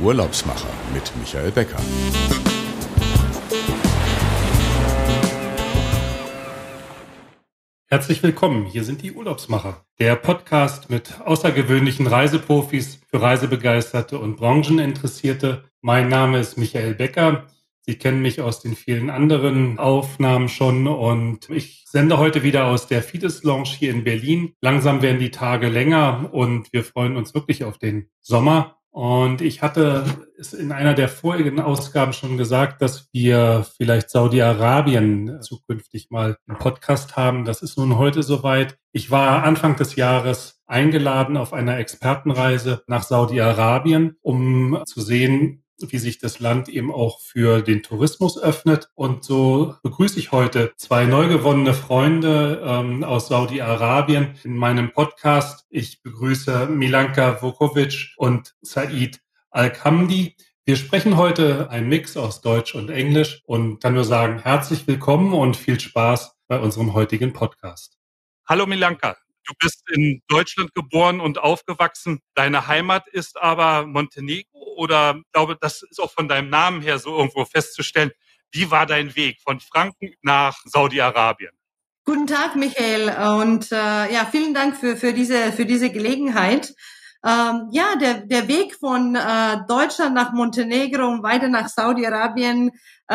Urlaubsmacher mit Michael Becker. Herzlich willkommen, hier sind die Urlaubsmacher, der Podcast mit außergewöhnlichen Reiseprofis für Reisebegeisterte und Brancheninteressierte. Mein Name ist Michael Becker. Sie kennen mich aus den vielen anderen Aufnahmen schon und ich sende heute wieder aus der Fides Lounge hier in Berlin. Langsam werden die Tage länger und wir freuen uns wirklich auf den Sommer. Und ich hatte es in einer der vorigen Ausgaben schon gesagt, dass wir vielleicht Saudi-Arabien zukünftig mal im Podcast haben. Das ist nun heute soweit. Ich war Anfang des Jahres eingeladen auf einer Expertenreise nach Saudi-Arabien, um zu sehen, wie sich das Land eben auch für den Tourismus öffnet. Und so begrüße ich heute zwei neu gewonnene Freunde aus Saudi-Arabien in meinem Podcast. Ich begrüße Milanka Vukovic und Said Al-Khamdi. Wir sprechen heute einen Mix aus Deutsch und Englisch und kann nur sagen, herzlich willkommen und viel Spaß bei unserem heutigen Podcast. Hallo Milanka. Du bist in Deutschland geboren und aufgewachsen. Deine Heimat ist aber Montenegro oder ich glaube, das ist auch von deinem Namen her so irgendwo festzustellen. Wie war dein Weg von Franken nach Saudi-Arabien? Guten Tag, Michael, und vielen Dank für diese Gelegenheit. Der Weg von Deutschland nach Montenegro und weiter nach Saudi-Arabien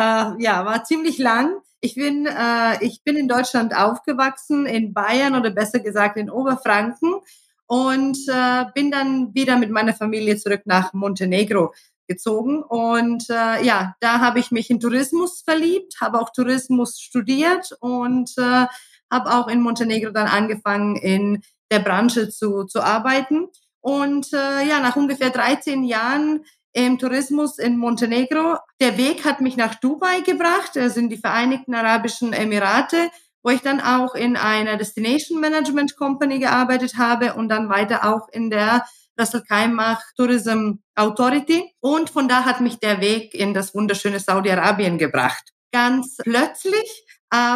war ziemlich lang. Ich bin in Deutschland aufgewachsen, in Bayern oder besser gesagt in Oberfranken und bin dann wieder mit meiner Familie zurück nach Montenegro gezogen. Und da habe ich mich in Tourismus verliebt, habe auch Tourismus studiert und habe auch in Montenegro dann angefangen, in der Branche zu arbeiten. Und nach ungefähr 13 Jahren im Tourismus in Montenegro. Der Weg hat mich nach Dubai gebracht, das sind die Vereinigten Arabischen Emirate, wo ich dann auch in einer Destination Management Company gearbeitet habe und dann weiter auch in der Ras Al Khaimah Tourism Authority. Und von da hat mich der Weg in das wunderschöne Saudi-Arabien gebracht. Ganz plötzlich,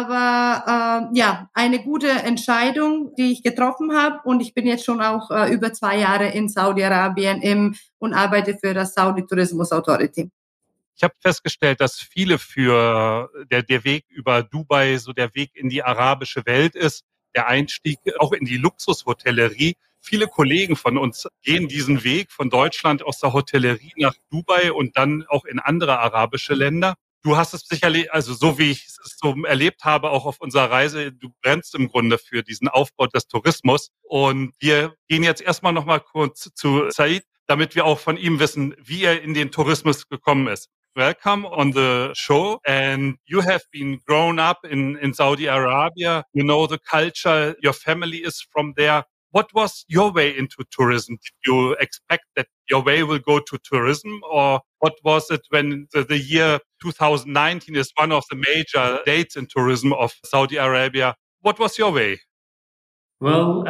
aber eine gute Entscheidung, die ich getroffen habe. Und ich bin jetzt schon auch über 2 Jahre in Saudi-Arabien und arbeite für das Saudi Tourismus Authority. Ich habe festgestellt, dass viele für der Weg über Dubai so der Weg in die arabische Welt ist, der Einstieg auch in die Luxushotellerie. Viele Kollegen von uns gehen diesen Weg von Deutschland aus der Hotellerie nach Dubai und dann auch in andere arabische Länder. Du hast es sicherlich, also so wie ich es so erlebt habe, auch auf unserer Reise, du brennst im Grunde für diesen Aufbau des Tourismus. Und wir gehen jetzt erstmal noch mal kurz zu Said, damit wir auch von ihm wissen, wie er in den Tourismus gekommen ist. Welcome on the show, and you have been grown up in Saudi Arabia. You know the culture, your family is from there. What was your way into tourism? Did you expect that your way will go to tourism, or what was it when the year 2019 is one of the major dates in tourism of Saudi Arabia? What was your way? Well,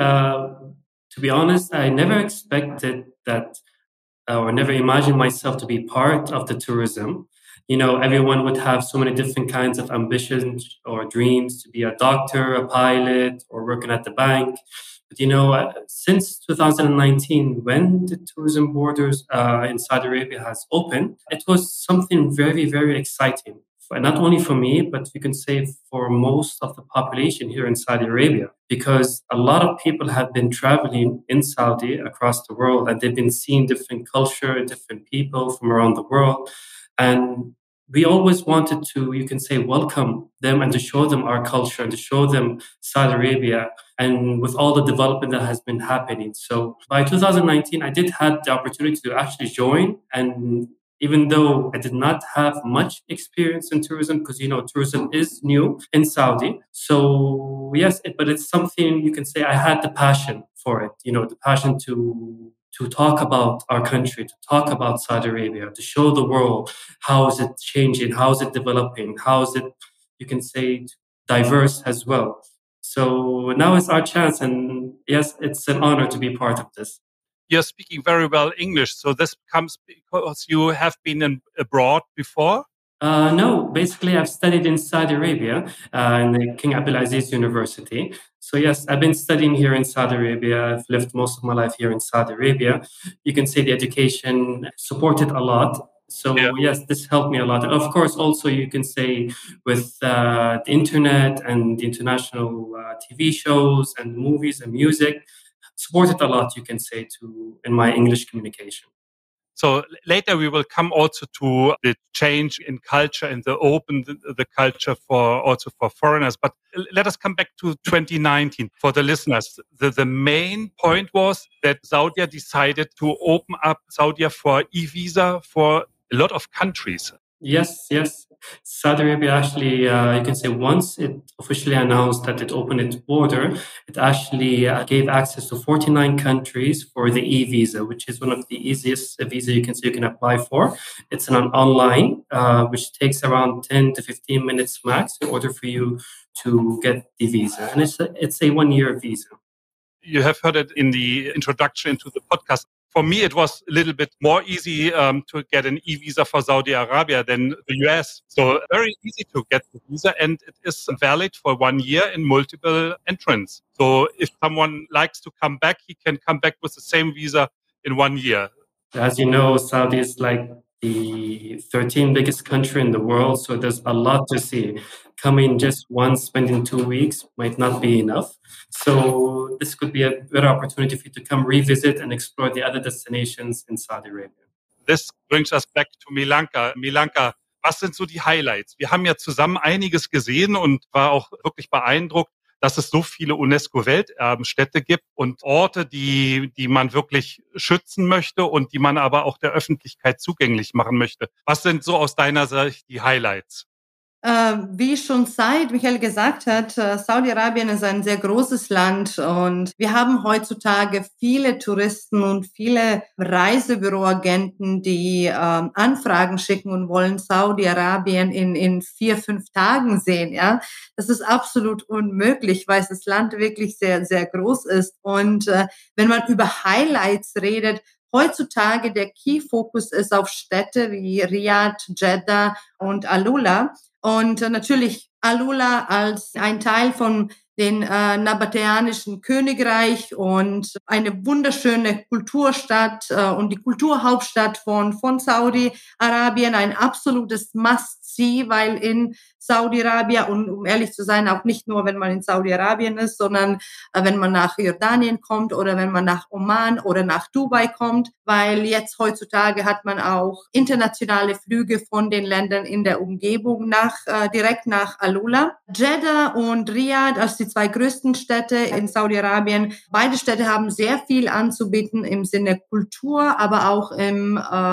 to be honest, I never expected that or never imagined myself to be part of the tourism. You know, everyone would have so many different kinds of ambitions or dreams to be a doctor, a pilot, or working at the bank. But, you know, since 2019, when the tourism borders in Saudi Arabia has opened, it was something very, very exciting. Not only for me, but you can say for most of the population here in Saudi Arabia, because a lot of people have been traveling in Saudi across the world and they've been seeing different culture, different people from around the world. And we always wanted to, you can say, welcome them and to show them our culture and to show them Saudi Arabia and with all the development that has been happening. So by 2019, I did have the opportunity to actually join, and even though I did not have much experience in tourism, because, you know, tourism is new in Saudi. So yes, but it's something you can say I had the passion for it, you know, the passion to talk about our country, to talk about Saudi Arabia, to show the world how is it changing, how is it developing, how is it, you can say, diverse as well. So now it's our chance, and yes, it's an honor to be part of this. You're speaking very well English, so this comes because you have been abroad before? No, basically, I've studied in Saudi Arabia in the King Abdulaziz University. So, yes, I've been studying here in Saudi Arabia. I've lived most of my life here in Saudi Arabia. You can say the education supported a lot. So, yes, this helped me a lot. And of course, also, you can say with the internet and the international TV shows and movies and music, supported a lot, you can say, in my English communication. So later we will come also to the change in culture and the culture for foreigners. But let us come back to 2019 for the listeners. The main point was that Saudi decided to open up Saudi for e-visa for a lot of countries. Yes. Saudi Arabia actually, you can say once it officially announced that it opened its border, it actually gave access to 49 countries for the e-visa, which is one of the easiest visa you can apply for. It's an online, which takes around 10 to 15 minutes max in order for you to get the visa. And it's a 1-year visa. You have heard it in the introduction to the podcast. For me, it was a little bit more easy to get an e-visa for Saudi Arabia than the US. So very easy to get the visa, and it is valid for 1 year in multiple entrants. So if someone likes to come back, he can come back with the same visa in 1 year. As you know, Saudi is like the 13th biggest country in the world, so there's a lot to see. Coming just once, spending 2 weeks might not be enough. So this could be a better opportunity for you to come revisit and explore the other destinations in Saudi Arabia. This brings us back to Milanka. Milanka, was sind so die Highlights? Wir haben ja zusammen einiges gesehen und war auch wirklich beeindruckt, dass es so viele UNESCO-Welterbenstädte gibt und Orte, die man wirklich schützen möchte und die man aber auch der Öffentlichkeit zugänglich machen möchte. Was sind so aus deiner Sicht die Highlights? Wie schon Michael gesagt hat, Saudi-Arabien ist ein sehr großes Land und wir haben heutzutage viele Touristen und viele Reisebüroagenten, die Anfragen schicken und wollen Saudi-Arabien in 4-5 Tagen sehen. Ja, das ist absolut unmöglich, weil das Land wirklich sehr, sehr groß ist. Und wenn man über Highlights redet, heutzutage der Key-Fokus ist auf Städte wie Riyadh, Jeddah und Alula. Und natürlich Alula als ein Teil von den nabatäanischen Königreich und eine wunderschöne Kulturstadt und die Kulturhauptstadt von Saudi-Arabien, ein absolutes Must-See, weil in Saudi-Arabien und um ehrlich zu sein, auch nicht nur, wenn man in Saudi-Arabien ist, sondern wenn man nach Jordanien kommt oder wenn man nach Oman oder nach Dubai kommt, weil jetzt heutzutage hat man auch internationale Flüge von den Ländern in der Umgebung direkt nach Alula. Jeddah und Riyadh als die 2 größten Städte in Saudi-Arabien. Beide Städte haben sehr viel anzubieten im Sinne Kultur, aber auch im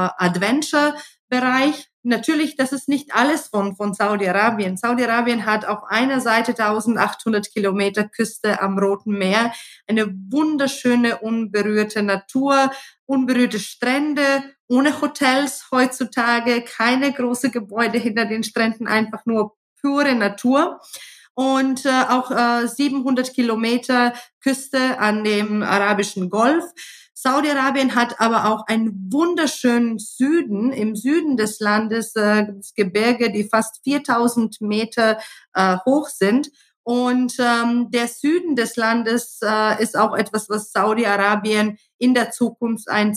Adventure-Bereich. Natürlich, das ist nicht alles von Saudi-Arabien. Saudi-Arabien hat auf einer Seite 1800 Kilometer Küste am Roten Meer, eine wunderschöne, unberührte Natur, unberührte Strände, ohne Hotels heutzutage, keine großen Gebäude hinter den Stränden, einfach nur pure Natur. Und auch 700 Kilometer Küste an dem Arabischen Golf. Saudi-Arabien hat aber auch einen wunderschönen Süden, im Süden des Landes, Gebirge, die fast 4000 Meter hoch sind. Und der Süden des Landes ist auch etwas, was Saudi-Arabien in der Zukunft eine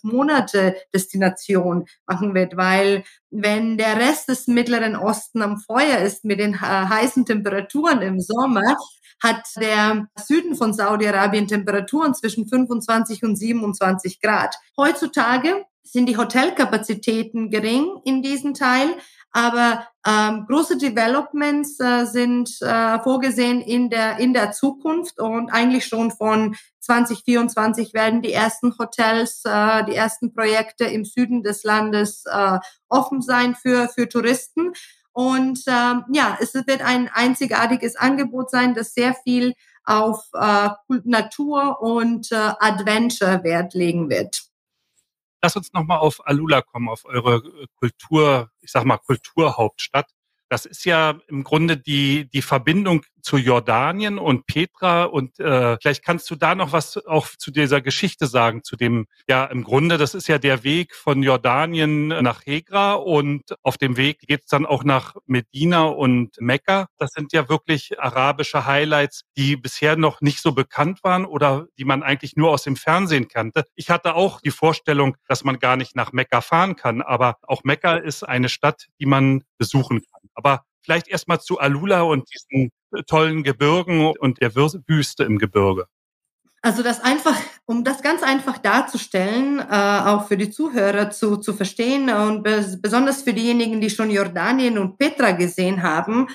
12-Monate-Destination machen wird, weil wenn der Rest des Mittleren Osten am Feuer ist mit den heißen Temperaturen im Sommer, hat der Süden von Saudi-Arabien Temperaturen zwischen 25 und 27 Grad. Heutzutage sind die Hotelkapazitäten gering in diesem Teil, aber große Developments sind vorgesehen in der Zukunft und eigentlich schon von 2024 werden die ersten Hotels, die ersten Projekte im Süden des Landes offen sein für Touristen. Und es wird ein einzigartiges Angebot sein, das sehr viel auf Natur und Adventure Wert legen wird. Lass uns nochmal auf Alula kommen, auf eure Kulturhauptstadt. Das ist ja im Grunde die Verbindung zu Jordanien und Petra. Und vielleicht kannst du da noch was auch zu dieser Geschichte sagen, zu dem, ja, im Grunde, das ist ja der Weg von Jordanien nach Hegra und auf dem Weg geht's dann auch nach Medina und Mekka. Das sind ja wirklich arabische Highlights, die bisher noch nicht so bekannt waren oder die man eigentlich nur aus dem Fernsehen kannte. Ich hatte auch die Vorstellung, dass man gar nicht nach Mekka fahren kann, aber auch Mekka ist eine Stadt, die man besuchen kann. Aber vielleicht erstmal zu Alula und diesen tollen Gebirgen und der Wüste im Gebirge. Also um das ganz einfach darzustellen, auch für die Zuhörer zu verstehen und besonders für diejenigen, die schon Jordanien und Petra gesehen haben.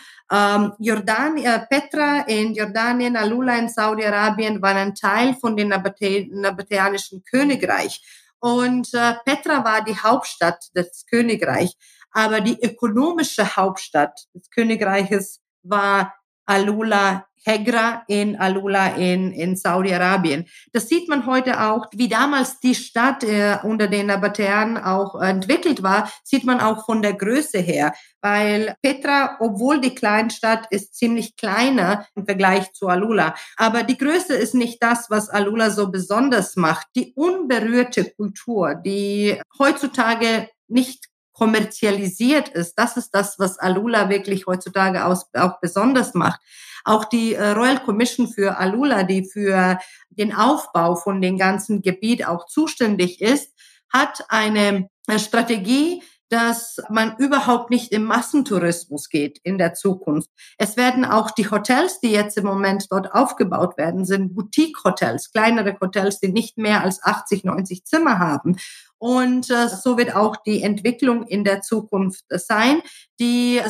Petra in Jordanien, Alula in Saudi-Arabien waren ein Teil von dem nabatäanischen Königreich. Und Petra war die Hauptstadt des Königreichs. Aber die ökonomische Hauptstadt des Königreiches war Alula, Hegra in Alula in Saudi-Arabien. Das sieht man heute auch, wie damals die Stadt unter den Nabatäern auch entwickelt war, sieht man auch von der Größe her. Weil Petra, obwohl die Kleinstadt ist, ziemlich kleiner im Vergleich zu Alula. Aber die Größe ist nicht das, was Alula so besonders macht. Die unberührte Kultur, die heutzutage nicht kommerzialisiert ist. Das ist das, was Alula wirklich heutzutage auch besonders macht. Auch die Royal Commission für Alula, die für den Aufbau von dem ganzen Gebiet auch zuständig ist, hat eine Strategie, dass man überhaupt nicht im Massentourismus geht in der Zukunft. Es werden auch die Hotels, die jetzt im Moment dort aufgebaut werden, sind Boutique-Hotels, kleinere Hotels, die nicht mehr als 80, 90 Zimmer haben. Und so wird auch die Entwicklung in der Zukunft sein. Der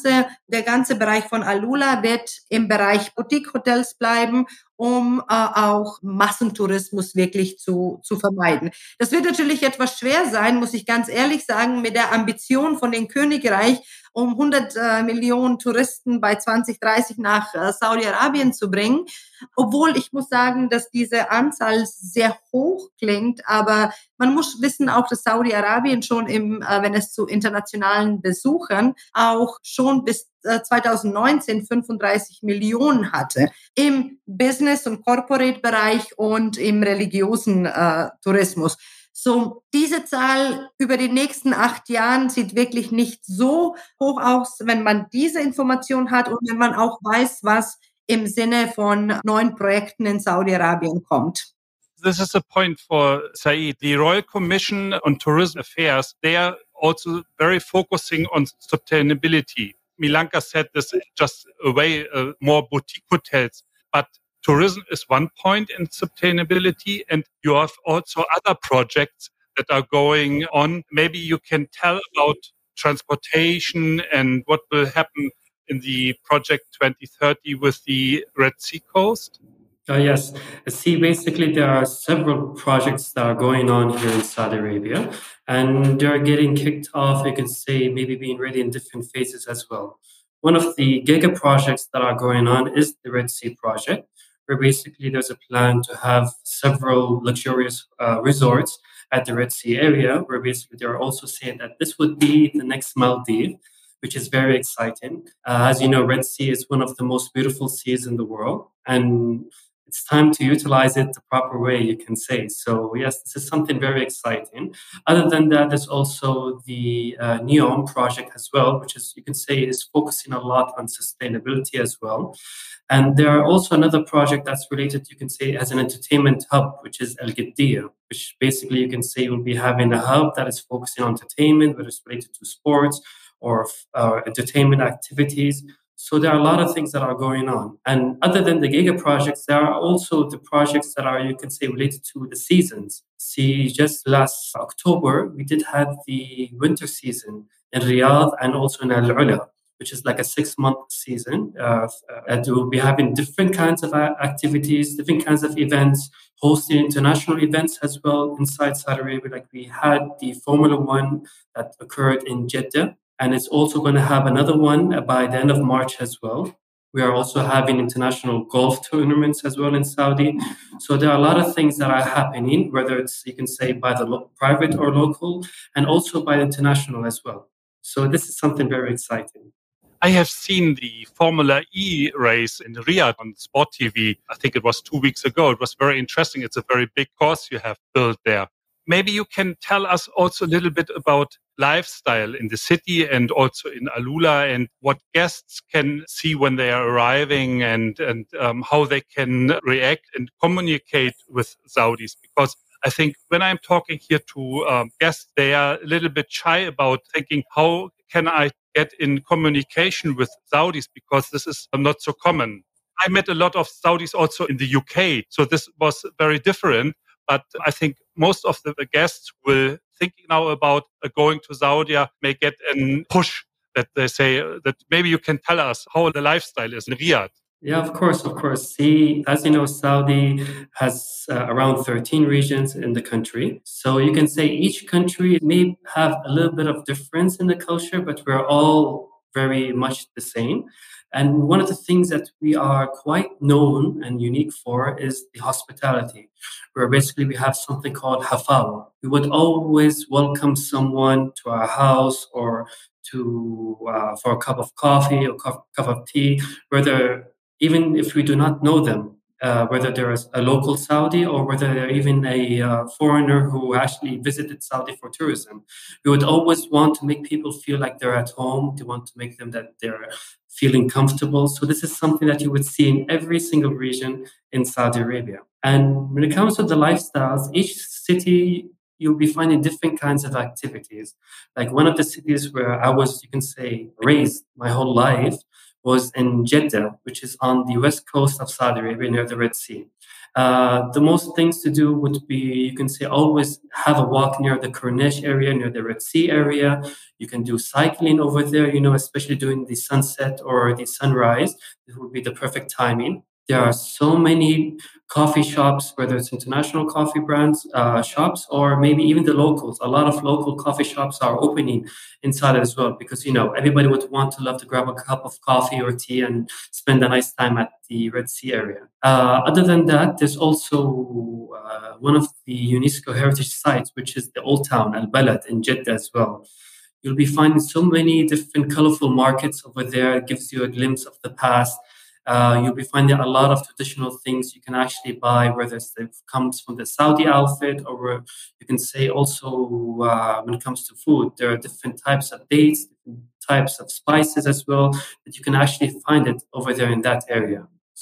ganze Bereich von Alula wird im Bereich Boutique-Hotels bleiben, um auch Massentourismus wirklich zu vermeiden. Das wird natürlich etwas schwer sein, muss ich ganz ehrlich sagen, mit der Ambition von dem Königreich, um 100 Millionen Touristen bei 2030 nach Saudi-Arabien zu bringen. Obwohl ich muss sagen, dass diese Anzahl sehr hoch klingt, aber man muss wissen auch, dass Saudi-Arabien schon wenn es zu internationalen Besuchern auch schon bis 2019 35 Millionen hatte im Business- und Corporate-Bereich und im religiösen Tourismus. So, diese Zahl über die nächsten 8 Jahren sieht wirklich nicht so hoch aus, wenn man diese Information hat und wenn man auch weiß, was im Sinne von neuen Projekten in Saudi-Arabien kommt. This is a point for Said. The Royal Commission on Tourism Affairs, they are also very focusing on sustainability. Milanka said this is just a way more boutique hotels, but tourism is one point in sustainability, and you have also other projects that are going on. Maybe you can tell about transportation and what will happen in the project 2030 with the Red Sea coast. Yes. See, basically, there are several projects that are going on here in Saudi Arabia, and they're getting kicked off, you can say, maybe being ready in different phases as well. One of the giga projects that are going on is the Red Sea project, where basically there's a plan to have several luxurious resorts at the Red Sea area, where basically they're also saying that this would be the next Maldives, which is very exciting. As you know, Red Sea is one of the most beautiful seas in the world, and it's time to utilize it the proper way, you can say. So yes, this is something very exciting. Other than that, there's also the NEOM project as well, which is, you can say, is focusing a lot on sustainability as well. And there are also another project that's related, you can say, as an entertainment hub, which is Al Qaddiya, which basically you can say will be having a hub that is focusing on entertainment, whether it's related to sports or entertainment activities. So there are a lot of things that are going on. And other than the giga projects, there are also the projects that are, you can say, related to the seasons. See, just last October, we did have the winter season in Riyadh and also in Al Ula, which is like a 6-month season. And we'll be having different kinds of activities, different kinds of events, hosting international events as well inside Saudi Arabia. Like we had the Formula One that occurred in Jeddah. And it's also going to have another one by the end of March as well. We are also having international golf tournaments as well in Saudi. So there are a lot of things that are happening, whether it's, you can say, by the private or local, and also by international as well. So this is something very exciting. I have seen the Formula E race in Riyadh on Sport TV. I think it was 2 weeks ago. It was very interesting. It's a very big course you have built there. Maybe you can tell us also a little bit about lifestyle in the city and also in Alula, and what guests can see when they are arriving, and how they can react and communicate with Saudis. Because I think when I'm talking here to guests, they are a little bit shy about thinking, how can I get in communication with Saudis, because this is not so common. I met a lot of Saudis also in the UK, so this was very different. But I think most of the guests will think now about going to Saudi may get a push that they say that maybe you can tell us how the lifestyle is in Riyadh. Yeah, of course, of course. See, as you know, Saudi has around 13 regions in the country. So you can say each country may have a little bit of difference in the culture, but we're all very much the same. And one of the things that we are quite known and unique for is the hospitality, where basically we have something called hafawa. We would always welcome someone to our house or to for a cup of coffee or cup of tea, whether even if we do not know them, whether they're a local Saudi or whether they're even a foreigner who actually visited Saudi for tourism. We would always want to make people feel like they're at home. We want to make them that they're feeling comfortable. So this is something that you would see in every single region in Saudi Arabia. And when it comes to the lifestyles, each city you'll be finding different kinds of activities. Like one of the cities where I was, you can say, raised my whole life was in Jeddah, which is on the west coast of Saudi Arabia near the Red Sea. The most things to do would be, you can say, always have a walk near the Corniche area, near the Red Sea area. You can do cycling over there, especially during the sunset or the sunrise. It would be the perfect timing. There are so many coffee shops, whether it's international coffee brands shops or maybe even the locals. A lot of local coffee shops are opening inside as well because, everybody would love to grab a cup of coffee or tea and spend a nice time at the Red Sea area. Other than that, there's also one of the UNESCO heritage sites, which is the Old Town, Al-Balad in Jeddah as well. You'll be finding so many different colorful markets over there. It gives you a glimpse of the past. You'll be finding a lot of traditional things you can actually buy, whether it comes from the Saudi outfit or you can say also when it comes to food, there are different types of dates, different types of spices as well, that you can actually find it over there in that area.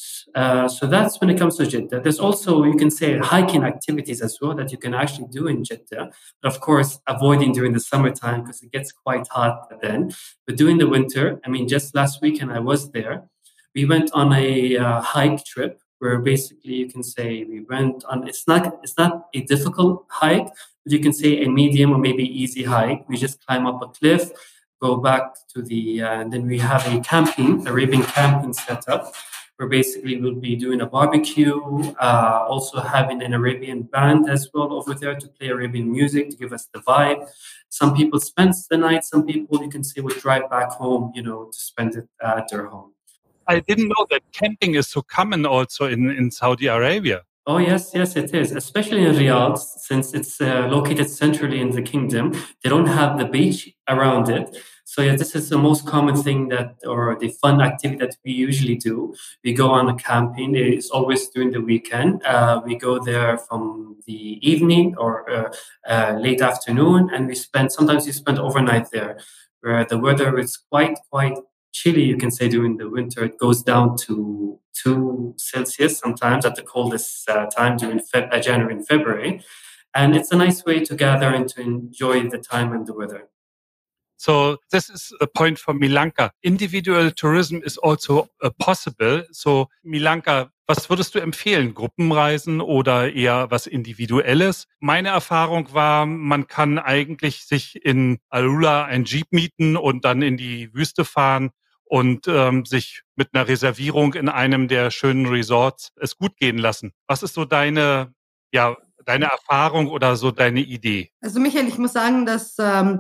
So that's when it comes to Jeddah. There's also, you can say, hiking activities as well that you can actually do in Jeddah. But of course, avoiding during the summertime because it gets quite hot then. But during the winter, just last weekend I was there. We went on a hike trip where basically you can say we went on, it's not a difficult hike, but you can say a medium or maybe easy hike. We just climb up a cliff, go back to and then we have Arabian camping setup, where basically we'll be doing a barbecue, also having an Arabian band as well over there to play Arabian music to give us the vibe. Some people spend the night, some people you can say would drive back home, to spend it at their home. I didn't know that camping is so common also in Saudi Arabia. Oh, yes, it is. Especially in Riyadh, since it's located centrally in the kingdom. They don't have the beach around it. So yeah, this is the most common thing or the fun activity that we usually do. We go on a camping. It's always during the weekend. We go there from the evening or late afternoon, and sometimes we spend overnight there, where the weather is quite chilly, you can say, during the winter. It goes down to 2 Celsius sometimes at the coldest time during January and February. And it's a nice way to gather and to enjoy the time and the weather. So this is the point for Milanka. Individual tourism is also possible. So Milanka, was würdest du empfehlen? Gruppenreisen oder eher was Individuelles? Meine Erfahrung war, man kann eigentlich sich in Alula ein Jeep mieten und dann in die Wüste fahren und sich mit einer Reservierung in einem der schönen Resorts es gut gehen lassen. Was ist so deine Erfahrung oder so deine Idee? Also Michael, ich muss sagen, dass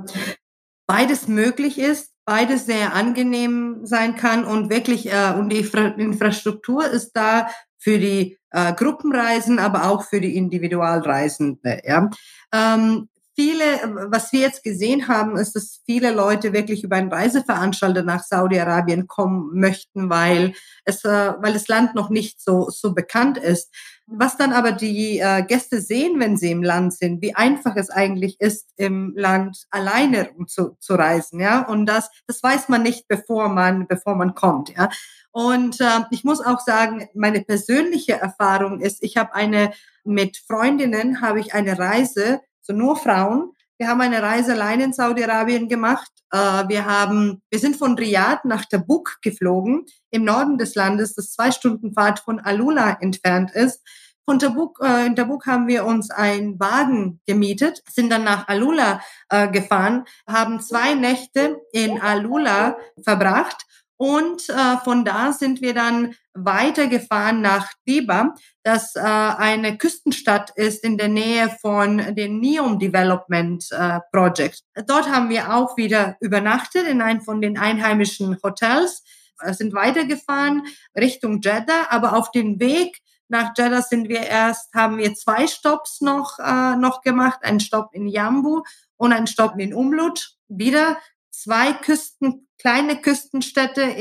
beides möglich ist, beides sehr angenehm sein kann und wirklich und die Infrastruktur ist da für die Gruppenreisen, aber auch für die Individualreisende. Ja. was wir jetzt gesehen haben, ist, dass viele Leute wirklich über einen Reiseveranstalter nach Saudi-Arabien kommen möchten, weil das Land noch nicht so bekannt ist. Was dann aber die Gäste sehen, wenn sie im Land sind, wie einfach es eigentlich ist, im Land alleine zu reisen, ja. Und das weiß man nicht, bevor man kommt, ja. Und ich muss auch sagen, meine persönliche Erfahrung ist, mit Freundinnen habe ich eine Reise, so nur Frauen. Wir haben eine Reise allein in Saudi-Arabien gemacht. Wir sind von Riyadh nach Tabuk geflogen, im Norden des Landes, das 2 Stunden Fahrt von Alula entfernt ist. In Tabuk haben wir uns einen Wagen gemietet, sind dann nach Alula gefahren, haben 2 Nächte in Alula verbracht. Und von da sind wir dann weitergefahren nach Diba, das eine Küstenstadt ist in der Nähe von dem NEOM Development Project. Dort haben wir auch wieder übernachtet in einem von den einheimischen Hotels, sind weitergefahren Richtung Jeddah, aber auf dem Weg nach Jeddah haben wir 2 Stopps noch gemacht, einen Stopp in Jambu und einen Stopp in Umlut. Wieder 2 kleine Küstenstädte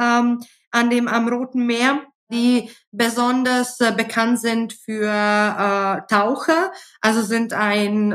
am Roten Meer, die besonders bekannt sind für Taucher. Also sind ein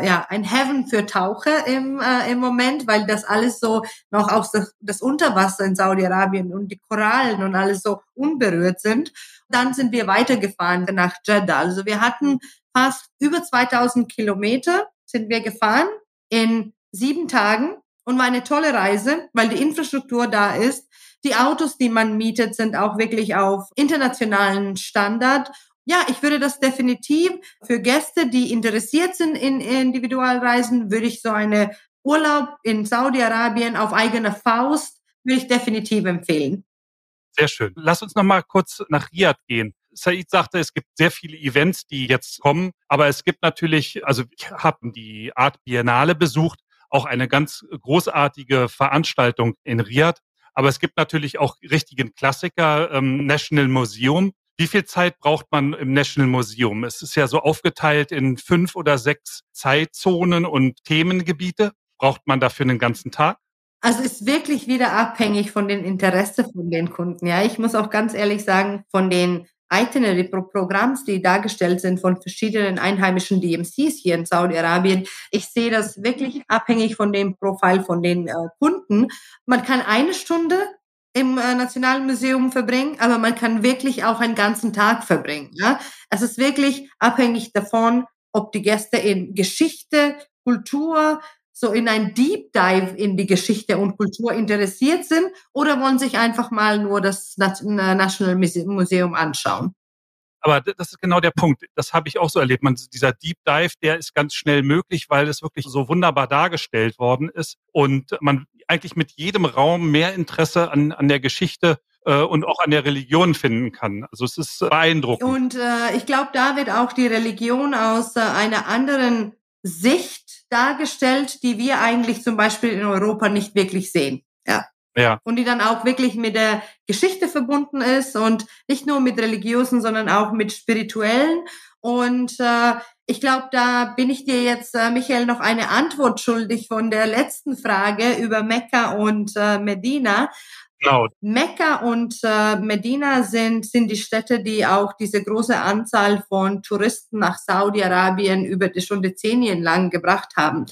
Heaven für Taucher im Moment, weil das alles so noch aus das Unterwasser in Saudi-Arabien und die Korallen und alles so unberührt sind. Dann sind wir weitergefahren nach Jeddah. Also wir hatten fast über 2000 Kilometer sind wir gefahren in 7 Tagen. Und war eine tolle Reise, weil die Infrastruktur da ist. Die Autos, die man mietet, sind auch wirklich auf internationalen Standard. Ja, ich würde das definitiv für Gäste, die interessiert sind in Individualreisen, würde ich so eine Urlaub in Saudi-Arabien auf eigene Faust, würde ich definitiv empfehlen. Sehr schön. Lass uns noch mal kurz nach Riyadh gehen. Said sagte, es gibt sehr viele Events, die jetzt kommen, aber es gibt natürlich, also ich habe die Art Biennale besucht, auch eine ganz großartige Veranstaltung in Riyadh. Aber es gibt natürlich auch richtigen Klassiker, National Museum. Wie viel Zeit braucht man im National Museum? Es ist ja so aufgeteilt in 5 oder 6 Zeitzonen und Themengebiete. Braucht man dafür einen ganzen Tag? Also ist wirklich wieder abhängig von den Interessen von den Kunden. Ja, ich muss auch ganz ehrlich sagen, von den Itinerary-Programms, die dargestellt sind von verschiedenen einheimischen DMCs hier in Saudi-Arabien. Ich sehe das wirklich abhängig von dem Profil von den Kunden. Man kann 1 Stunde im Nationalen Museum verbringen, aber man kann wirklich auch einen ganzen Tag verbringen. Ja? Es ist wirklich abhängig davon, ob die Gäste in Geschichte, Kultur, so in ein Deep Dive in die Geschichte und Kultur interessiert sind oder wollen sich einfach mal nur das National Museum anschauen. Aber das ist genau der Punkt. Das habe ich auch so erlebt. Dieser Deep Dive, der ist ganz schnell möglich, weil es wirklich so wunderbar dargestellt worden ist und man eigentlich mit jedem Raum mehr Interesse an der Geschichte und auch an der Religion finden kann. Also es ist beeindruckend. Und ich glaube, da wird auch die Religion aus einer anderen Sicht dargestellt, die wir eigentlich zum Beispiel in Europa nicht wirklich sehen. Ja. Und die dann auch wirklich mit der Geschichte verbunden ist und nicht nur mit religiösen, sondern auch mit spirituellen. Und ich glaube, da bin ich dir jetzt, Michael, noch eine Antwort schuldig von der letzten Frage über Mekka und Medina. Genau. Mekka und Medina sind die Städte, die auch diese große Anzahl von Touristen nach Saudi-Arabien über die schon Dezennien lang gebracht haben.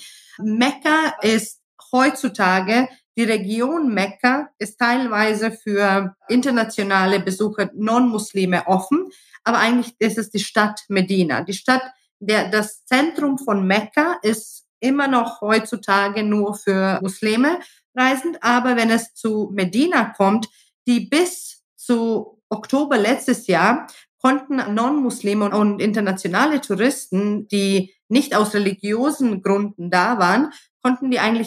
Mekka ist heutzutage, die Region Mekka ist teilweise für internationale Besucher, Non-Muslime offen, aber eigentlich ist es die Stadt Medina. Das Zentrum von Mekka ist immer noch heutzutage nur für Muslime reisend, aber wenn es zu Medina kommt, die bis zu Oktober letztes Jahr konnten Non-Muslime und internationale Touristen, die nicht aus religiösen Gründen da waren, konnten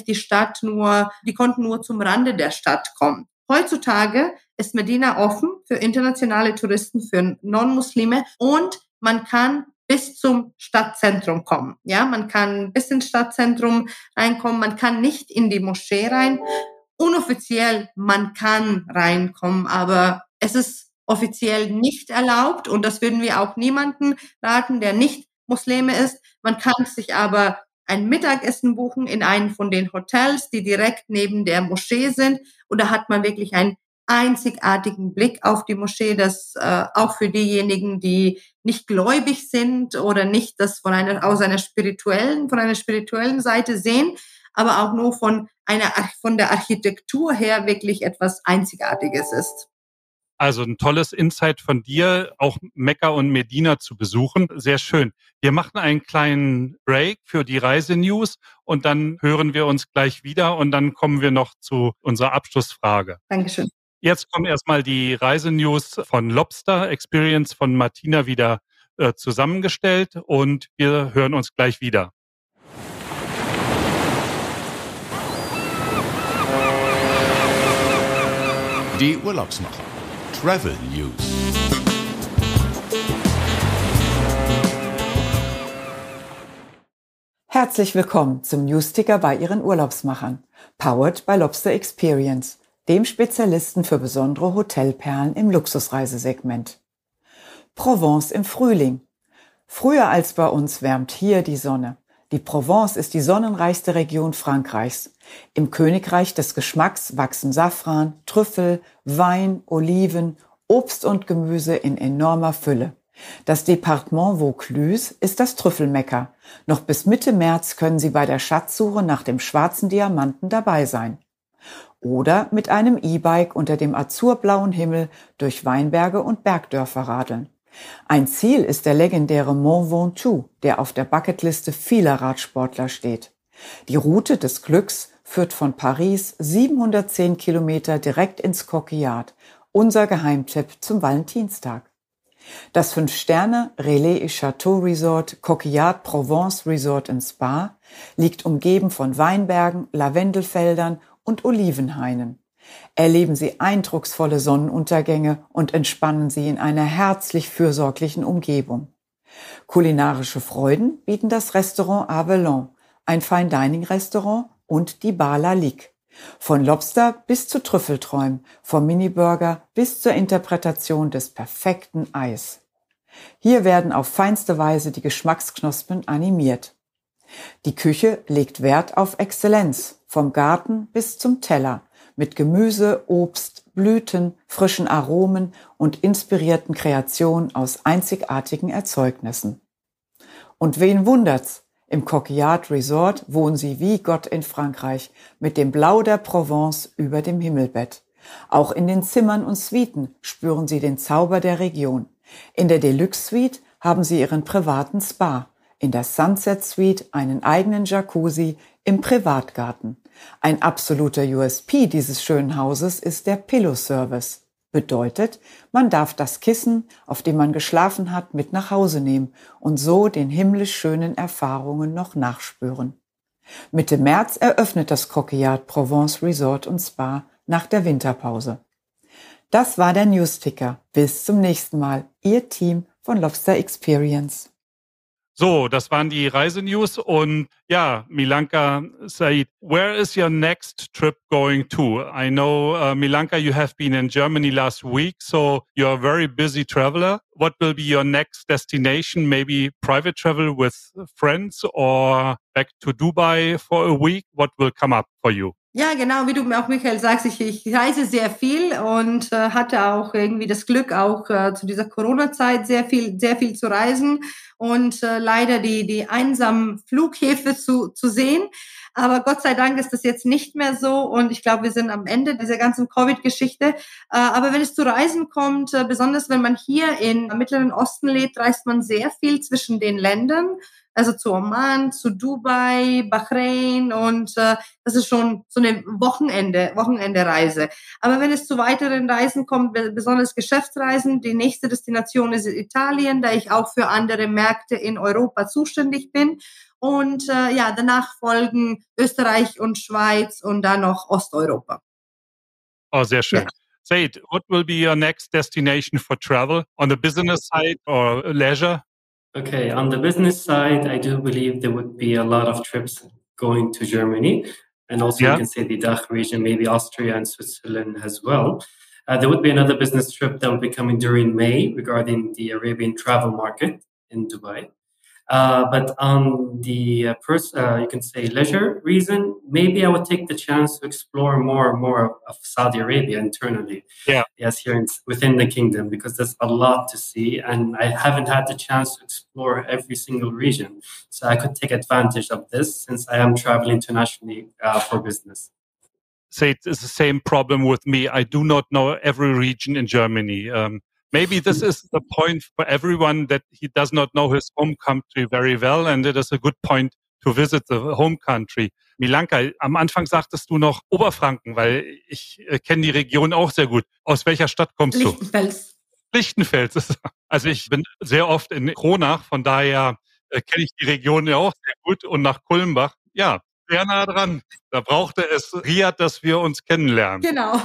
nur zum Rande der Stadt kommen. Heutzutage ist Medina offen für internationale Touristen, für Non-Muslime und man kann bis zum Stadtzentrum kommen. Ja, man kann bis ins Stadtzentrum reinkommen. Man kann nicht in die Moschee rein. Unoffiziell, man kann reinkommen, aber es ist offiziell nicht erlaubt und das würden wir auch niemanden raten, der nicht Muslime ist. Man kann sich aber ein Mittagessen buchen in einem von den Hotels, die direkt neben der Moschee sind. Und da hat man wirklich einen einzigartigen Blick auf die Moschee, das auch für diejenigen, die nicht gläubig sind oder nicht das von einer spirituellen Seite sehen, aber auch nur von der Architektur her wirklich etwas Einzigartiges ist. Also ein tolles Insight von dir, auch Mekka und Medina zu besuchen. Sehr schön. Wir machen einen kleinen Break für die Reisenews und dann hören wir uns gleich wieder und dann kommen wir noch zu unserer Abschlussfrage. Dankeschön. Jetzt kommen erstmal die Reisenews von Lobster Experience von Martina wieder zusammengestellt und wir hören uns gleich wieder. Die Urlaubsmacher. Travel News. Herzlich willkommen zum Newsticker bei Ihren Urlaubsmachern. Powered by Lobster Experience, dem Spezialisten für besondere Hotelperlen im Luxusreisesegment. Provence im Frühling. Früher als bei uns wärmt hier die Sonne. Die Provence ist die sonnenreichste Region Frankreichs. Im Königreich des Geschmacks wachsen Safran, Trüffel, Wein, Oliven, Obst und Gemüse in enormer Fülle. Das Departement Vaucluse ist das Trüffelmekka. Noch bis Mitte März können Sie bei der Schatzsuche nach dem schwarzen Diamanten dabei sein. Oder mit einem E-Bike unter dem azurblauen Himmel durch Weinberge und Bergdörfer radeln. Ein Ziel ist der legendäre Mont Ventoux, der auf der Bucketliste vieler Radsportler steht. Die Route des Glücks führt von Paris 710 Kilometer direkt ins Coquillard, unser Geheimtipp zum Valentinstag. Das 5-Sterne Relais et Château Resort Coquillard Provence Resort & Spa liegt umgeben von Weinbergen, Lavendelfeldern und Olivenhainen. Erleben Sie eindrucksvolle Sonnenuntergänge und entspannen Sie in einer herzlich fürsorglichen Umgebung. Kulinarische Freuden bieten das Restaurant Avellan, ein Fine-Dining-Restaurant und die Bar La Ligue. Von Lobster bis zu Trüffelträumen, vom Miniburger bis zur Interpretation des perfekten Eis. Hier werden auf feinste Weise die Geschmacksknospen animiert. Die Küche legt Wert auf Exzellenz, vom Garten bis zum Teller, mit Gemüse, Obst, Blüten, frischen Aromen und inspirierten Kreationen aus einzigartigen Erzeugnissen. Und wen wundert's? Im Coquillard Resort wohnen Sie wie Gott in Frankreich, mit dem Blau der Provence über dem Himmelbett. Auch in den Zimmern und Suiten spüren Sie den Zauber der Region. In der Deluxe Suite haben Sie Ihren privaten Spa, in der Sunset Suite einen eigenen Jacuzzi im Privatgarten. Ein absoluter USP dieses schönen Hauses ist der Pillow Service. Bedeutet, man darf das Kissen, auf dem man geschlafen hat, mit nach Hause nehmen und so den himmlisch schönen Erfahrungen noch nachspüren. Mitte März eröffnet das Coquillard Provence Resort & Spa nach der Winterpause. Das war der Newsticker. Bis zum nächsten Mal. Ihr Team von Lobster Experience. So, das waren die Reisenews und ja, Milanka Said, where is your next trip going to? I know, Milanka, you have been in Germany last week, so you're a very busy traveler. What will be your next destination? Maybe private travel with friends or back to Dubai for a week? What will come up for you? Ja, genau, wie du auch, Michael, sagst, ich reise sehr viel und hatte auch irgendwie das Glück, auch zu dieser Corona-Zeit sehr viel zu reisen und leider die einsamen Flughäfen zu sehen. Aber Gott sei Dank ist das jetzt nicht mehr so und ich glaube, wir sind am Ende dieser ganzen Covid-Geschichte. Aber wenn es zu Reisen kommt, besonders wenn man hier im Mittleren Osten lebt, reist man sehr viel zwischen den Ländern. Also zu Oman, zu Dubai, Bahrain und das ist schon so eine Wochenende-Reise. Aber wenn es zu weiteren Reisen kommt, besonders Geschäftsreisen, die nächste Destination ist Italien, da ich auch für andere Märkte in Europa zuständig bin. Und danach folgen Österreich und Schweiz und dann noch Osteuropa. Oh, sehr schön. Ja. Said, what will be your next destination for travel? On the business side or leisure? Okay, on the business side, I do believe there would be a lot of trips going to Germany. And also you can say the DACH region, maybe Austria and Switzerland as well. There would be another business trip that will be coming during May regarding the Arabian travel market in Dubai. But on the you can say leisure reason, maybe I would take the chance to explore more and more of Saudi Arabia internally. Yeah. Yes, here within the kingdom, because there's a lot to see, and I haven't had the chance to explore every single region. So I could take advantage of this since I am traveling internationally for business. Say it's the same problem with me. I do not know every region in Germany. Maybe this is the point for everyone, that he does not know his home country very well, and it is a good point to visit the home country. Milanka, am Anfang sagtest du noch Oberfranken, weil ich kenne die Region auch sehr gut. Aus welcher Stadt kommst du? Lichtenfels. Also ich bin sehr oft in Kronach, von daher kenne ich die Region ja auch sehr gut, und nach Kulmbach. Ja, sehr nah dran. Da brauchte es Riyadh, dass wir uns kennenlernen. Genau.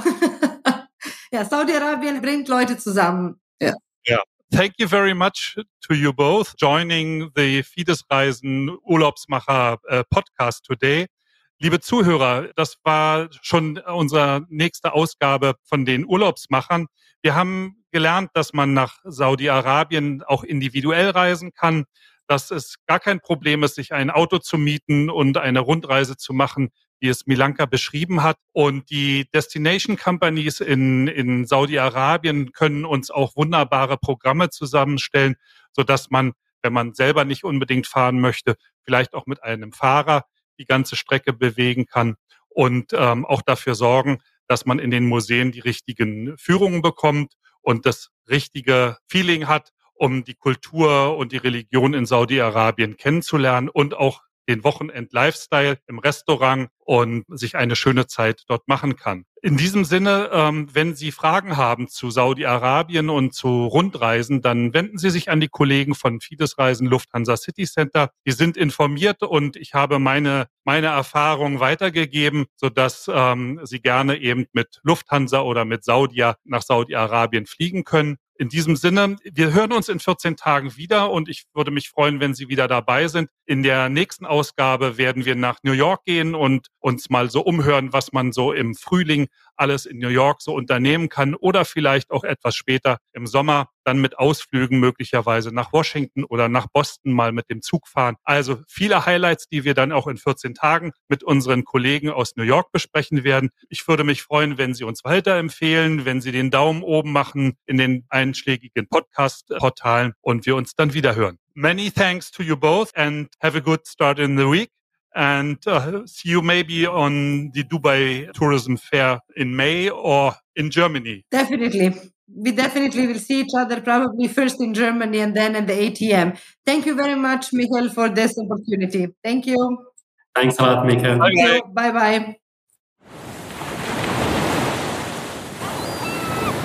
Ja, Saudi-Arabien bringt Leute zusammen. Ja. Yeah. Thank you very much to you both joining the Fides Reisen Urlaubsmacher podcast today. Liebe Zuhörer, das war schon unsere nächste Ausgabe von den Urlaubsmachern. Wir haben gelernt, dass man nach Saudi-Arabien auch individuell reisen kann, dass es gar kein Problem ist, sich ein Auto zu mieten und eine Rundreise zu machen, wie es Milanka beschrieben hat. Und die Destination Companies in Saudi-Arabien können uns auch wunderbare Programme zusammenstellen, sodass man, wenn man selber nicht unbedingt fahren möchte, vielleicht auch mit einem Fahrer die ganze Strecke bewegen kann und auch dafür sorgen, dass man in den Museen die richtigen Führungen bekommt und das richtige Feeling hat, um die Kultur und die Religion in Saudi-Arabien kennenzulernen und auch den Wochenend-Lifestyle im Restaurant und sich eine schöne Zeit dort machen kann. In diesem Sinne, wenn Sie Fragen haben zu Saudi-Arabien und zu Rundreisen, dann wenden Sie sich an die Kollegen von Fides Reisen Lufthansa City Center. Die sind informiert und ich habe meine Erfahrungen weitergegeben, sodass Sie gerne eben mit Lufthansa oder mit Saudia nach Saudi-Arabien fliegen können. In diesem Sinne, wir hören uns in 14 Tagen wieder und ich würde mich freuen, wenn Sie wieder dabei sind. In der nächsten Ausgabe werden wir nach New York gehen und uns mal so umhören, was man so im Frühling alles in New York so unternehmen kann oder vielleicht auch etwas später im Sommer dann mit Ausflügen möglicherweise nach Washington oder nach Boston mal mit dem Zug fahren. Also viele Highlights, die wir dann auch in 14 Tagen mit unseren Kollegen aus New York besprechen werden. Ich würde mich freuen, wenn Sie uns weiterempfehlen, wenn Sie den Daumen oben machen in den einschlägigen Podcast-Portalen und wir uns dann wieder hören. Many thanks to you both and have a good start in the week. And see you maybe on the Dubai Tourism Fair in May or in Germany. Definitely. We definitely will see each other probably first in Germany and then at the ATM. Thank you very much, Michael, for this opportunity. Thank you. Thanks a lot, Michael. Bye-bye.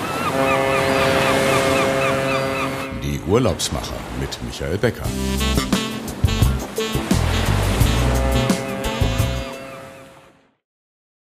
Die Urlaubsmacher mit Michael Becker.